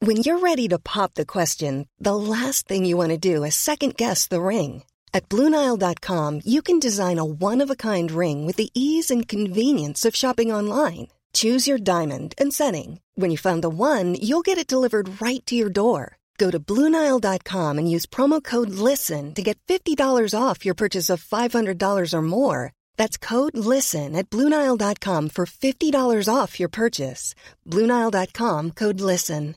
When you're ready to pop the question, the last thing you want to do is second-guess the ring. At BlueNile.com, you can design a one-of-a-kind ring with the ease and convenience of shopping online. Choose your diamond and setting. When you find the one, you'll get it delivered right to your door. Go to BlueNile.com and use promo code LISTEN to get $50 off your purchase of $500 or more. That's code LISTEN at BlueNile.com for $50 off your purchase. BlueNile.com, code LISTEN.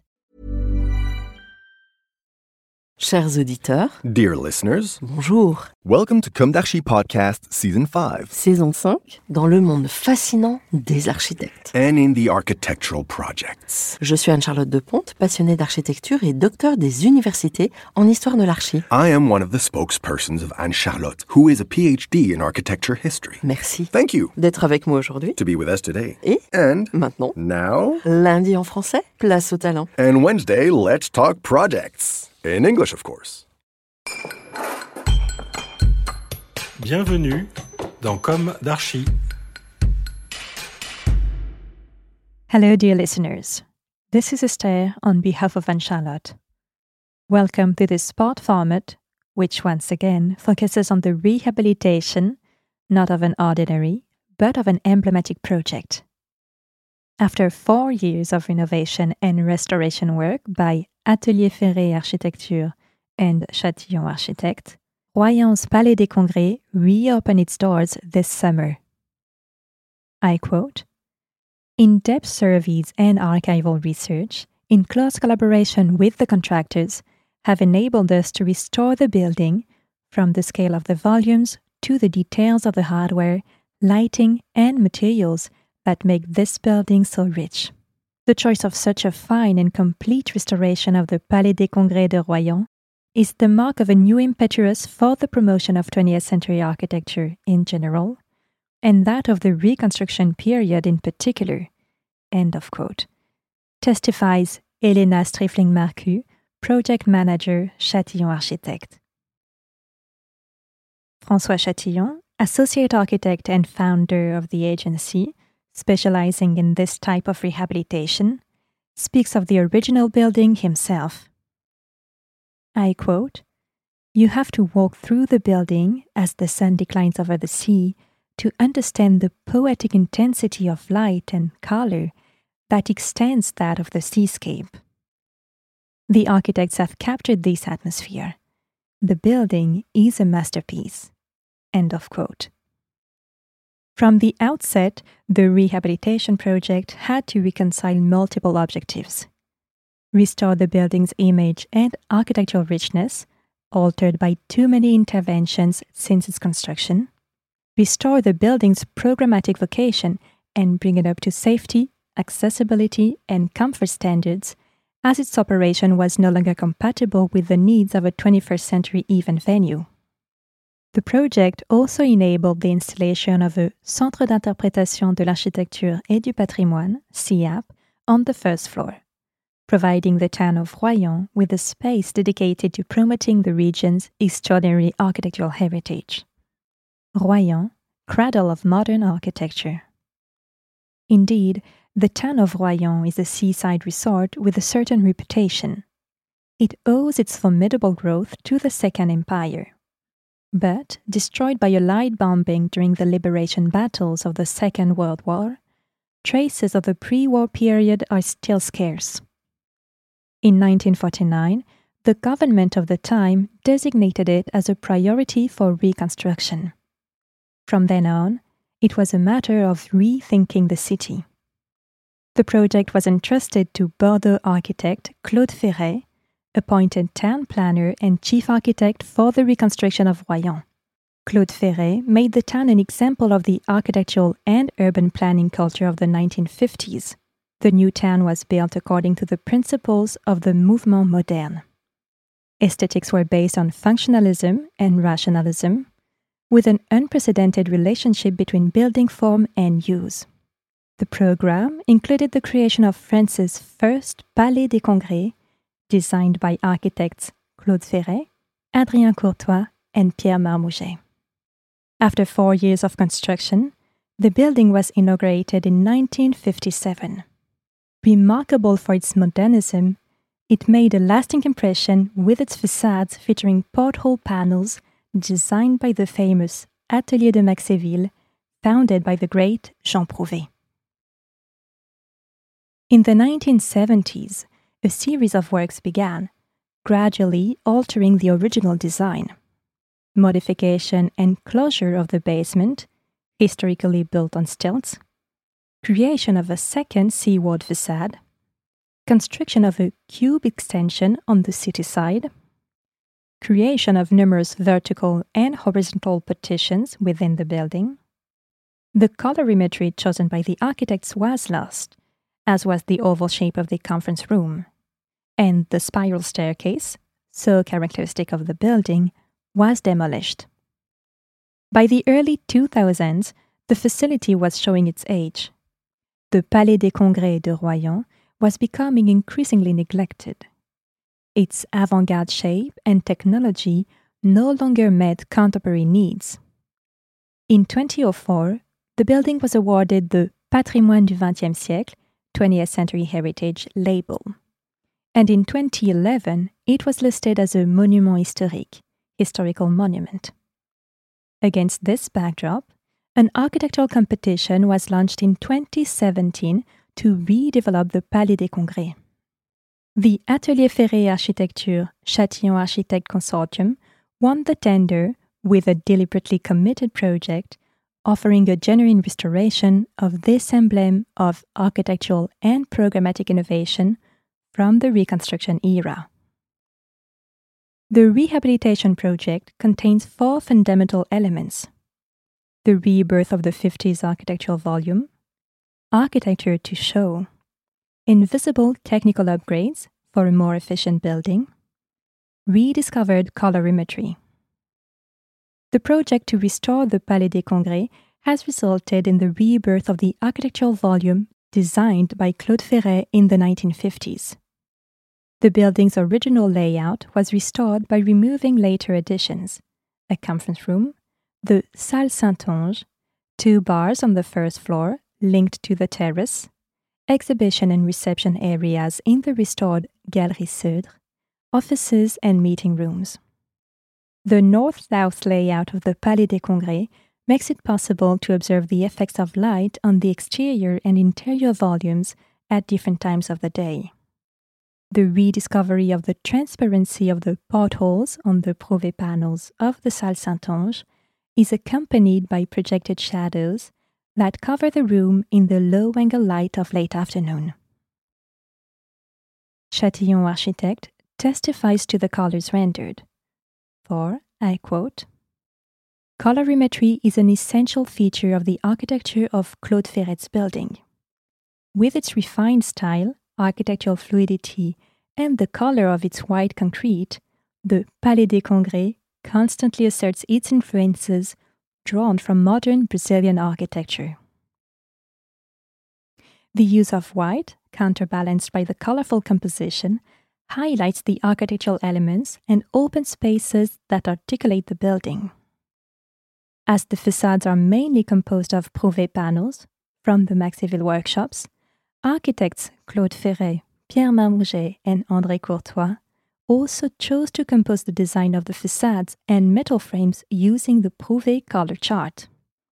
Chers auditeurs, Dear listeners, bonjour. welcome to Comme d'Archi Podcast Season 5. Saison 5, dans le monde fascinant des architectes. And in the architectural projects. Je suis Anne-Charlotte Deponte, passionnée d'architecture et docteur des universités en histoire de l'archi. I am one of the spokespersons of Anne-Charlotte, who is a PhD in architecture history. Merci Thank you d'être avec moi aujourd'hui. to be with us today. Et And maintenant, now, lundi en français, place au talent. and Wednesday, let's talk projects. In English, of course. Bienvenue dans Comme d'Archi. Hello, dear listeners. This is Esther on behalf of Anne-Charlotte. Welcome to this spot format, which once again focuses on the rehabilitation, not of an ordinary, but of an emblematic project. After 4 years of renovation and restoration work by Atelier Ferré Architecture and Châtillon Architectes, Royan's Palais des Congrès reopened its doors this summer. I quote, "In-depth surveys and archival research, in close collaboration with the contractors, have enabled us to restore the building from the scale of the volumes to the details of the hardware, lighting, and materials that make this building so rich. The choice of such a fine and complete restoration of the Palais des Congrès de Royan is the mark of a new impetus for the promotion of 20th century architecture in general, and that of the reconstruction period in particular," end of quote, testifies Elena Strifling-Marcu, project manager, Châtillon Architectes. François Châtillon, associate architect and founder of the agency, specializing in this type of rehabilitation, speaks of the original building himself. I quote, "You have to walk through the building as the sun declines over the sea to understand the poetic intensity of light and color that extends that of the seascape. The architects have captured this atmosphere. The building is a masterpiece." End of quote. From the outset, the rehabilitation project had to reconcile multiple objectives: restore the building's image and architectural richness, altered by too many interventions since its construction, restore the building's programmatic vocation and bring it up to safety, accessibility, and comfort standards, as its operation was no longer compatible with the needs of a 21st century event venue. The project also enabled the installation of a Centre d'interprétation de l'architecture et du patrimoine, CIAP, on the first floor, providing the town of Royan with a space dedicated to promoting the region's extraordinary architectural heritage. Royan, cradle of modern architecture. Indeed, the town of Royan is a seaside resort with a certain reputation. It owes its formidable growth to the Second Empire. But, destroyed by a light bombing during the liberation battles of the Second World War, traces of the pre-war period are still scarce. In 1949, the government of the time designated it as a priority for reconstruction. From then on, it was a matter of rethinking the city. The project was entrusted to Bordeaux architect Claude Ferret, appointed town planner and chief architect for the reconstruction of Royan. Claude Ferret made the town an example of the architectural and urban planning culture of the 1950s. The new town was built according to the principles of the Mouvement Moderne. Aesthetics were based on functionalism and rationalism, with an unprecedented relationship between building form and use. The program included the creation of France's first Palais des Congrès, designed by architects Claude Ferret, Adrien Courtois, and Pierre Marmouget. After 4 years of construction, the building was inaugurated in 1957. Remarkable for its modernism, it made a lasting impression with its facades featuring porthole panels designed by the famous Atelier de Maxéville, founded by the great Jean Prouvé. In the 1970s, a series of works began, gradually altering the original design. Modification and closure of the basement, historically built on stilts, creation of a second seaward facade, construction of a cube extension on the city side, creation of numerous vertical and horizontal partitions within the building. The colorimetry chosen by the architects was lost, as was the oval shape of the conference room, and the spiral staircase, so characteristic of the building, was demolished. By the early 2000s, the facility was showing its age. The Palais des Congrès de Royan was becoming increasingly neglected. Its avant-garde shape and technology no longer met contemporary needs. In 2004, the building was awarded the Patrimoine du XXe siècle, 20th Century Heritage label. And in 2011, it was listed as a Monument Historique, historical monument. Against this backdrop, an architectural competition was launched in 2017 to redevelop the Palais des Congrès. The Atelier Ferré Architecture Châtillon Architectes Consortium won the tender with a deliberately committed project offering a genuine restoration of this emblem of architectural and programmatic innovation from the Reconstruction era. The rehabilitation project contains 4 fundamental elements: the rebirth of the 50s architectural volume, architecture to show, invisible technical upgrades for a more efficient building, rediscovered colorimetry. The project to restore the Palais des Congrès has resulted in the rebirth of the architectural volume designed by Claude Ferret in the 1950s. The building's original layout was restored by removing later additions: a conference room, the Salle Saint-Onge, 2 bars on the first floor linked to the terrace, exhibition and reception areas in the restored Galerie Seudre, offices and meeting rooms. The north-south layout of the Palais des Congrès makes it possible to observe the effects of light on the exterior and interior volumes at different times of the day. The rediscovery of the transparency of the portholes on the Prouvé panels of the Salle Saint-Onge is accompanied by projected shadows that cover the room in the low-angle light of late afternoon. Châtillon Architectes testifies to the colors rendered. For, I quote, "Colorimetry is an essential feature of the architecture of Claude Ferret's building. With its refined style, architectural fluidity, and the color of its white concrete, the Palais des Congrès constantly asserts its influences drawn from modern Brazilian architecture. The use of white, counterbalanced by the colorful composition, highlights the architectural elements and open spaces that articulate the building. As the facades are mainly composed of Prouvé panels from the Maxéville workshops, architects Claude Ferret, Pierre Marmouget, and André Courtois also chose to compose the design of the facades and metal frames using the Prouvé color chart.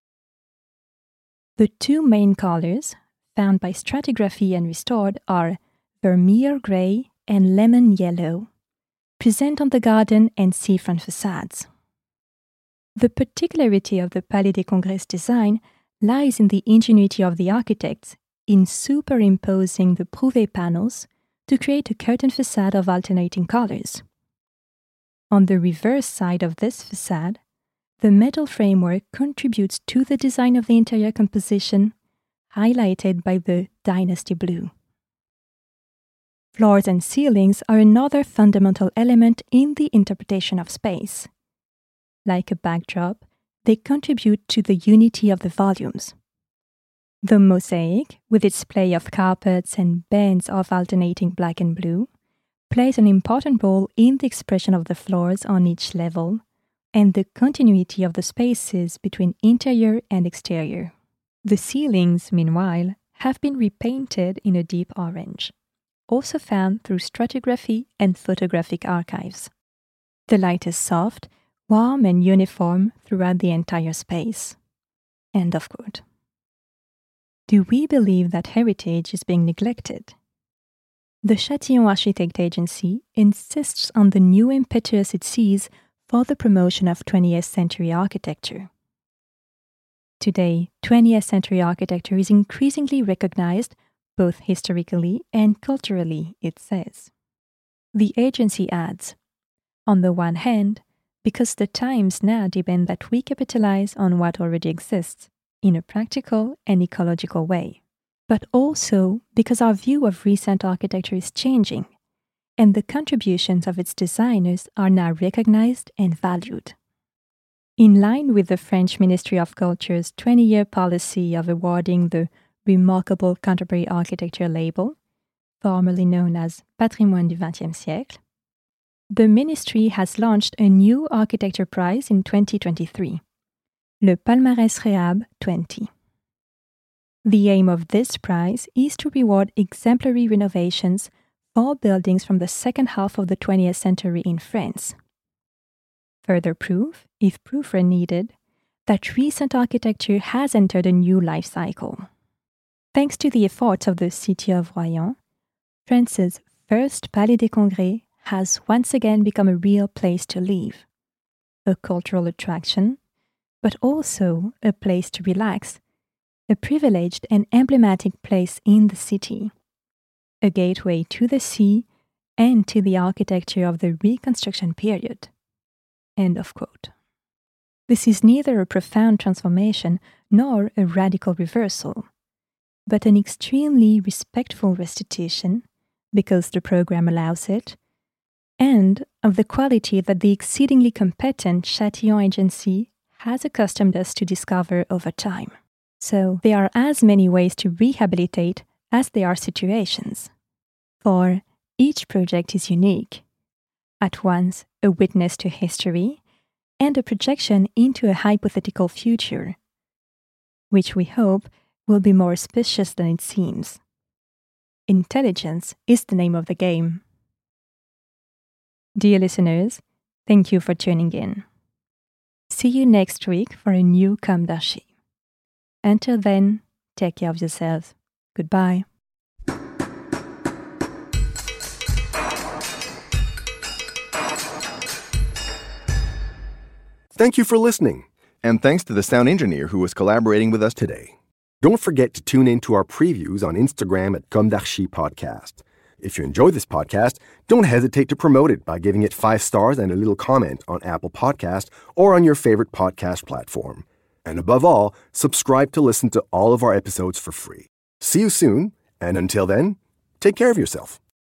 The 2 main colors, found by stratigraphy and restored, are Vermeer gray and lemon yellow, present on the garden and seafront facades. The particularity of the Palais des Congrès design lies in the ingenuity of the architects in superimposing the Prouvé panels to create a curtain facade of alternating colors. On the reverse side of this facade, the metal framework contributes to the design of the interior composition, highlighted by the Dynasty blue. Floors and ceilings are another fundamental element in the interpretation of space. Like a backdrop, they contribute to the unity of the volumes. The mosaic, with its play of carpets and bands of alternating black and blue, plays an important role in the expression of the floors on each level and the continuity of the spaces between interior and exterior. The ceilings, meanwhile, have been repainted in a deep orange. also found through stratigraphy and photographic archives. The light is soft, warm, and uniform throughout the entire space. End of quote. Do we believe that heritage is being neglected? The Châtillon Architect Agency insists on the new impetus it sees for the promotion of 20th century architecture. Today, 20th century architecture is increasingly recognized both historically and culturally, it says. The agency adds, on the one hand, because the times now demand that we capitalize on what already exists in a practical and ecological way, but also because our view of recent architecture is changing, and the contributions of its designers are now recognized and valued. In line with the French Ministry of Culture's 20-year policy of awarding the Remarkable Contemporary Architecture label, formerly known as Patrimoine du XXe siècle, the ministry has launched a new architecture prize in 2023, Le Palmarès Réhab 20. The aim of this prize is to reward exemplary renovations for buildings from the second half of the 20th century in France. Further proof, if proof were needed, that recent architecture has entered a new life cycle. Thanks to the efforts of the city of Royan, France's first Palais des Congrès has once again become a real place to live, a cultural attraction, but also a place to relax, a privileged and emblematic place in the city, a gateway to the sea and to the architecture of the Reconstruction period. End of quote. This is neither a profound transformation nor a radical reversal, but an extremely respectful restitution, because the program allows it, and of the quality that the exceedingly competent Châtillon Agency has accustomed us to discover over time. So there are as many ways to rehabilitate as there are situations. For each project is unique, at once a witness to history and a projection into a hypothetical future, which we hope will be more auspicious than it seems. Intelligence is the name of the game. Dear listeners, thank you for tuning in. See you next week for a new Comme d'Archi. Until then, take care of yourselves. Goodbye. Thank you for listening. And thanks to the sound engineer who was collaborating with us today. Don't forget to tune in to our previews on Instagram at Comme d'Archi Podcast. If you enjoy this podcast, don't hesitate to promote it by giving it 5 stars and a little comment on Apple Podcast or on your favorite podcast platform. And above all, subscribe to listen to all of our episodes for free. See you soon, and until then, take care of yourself.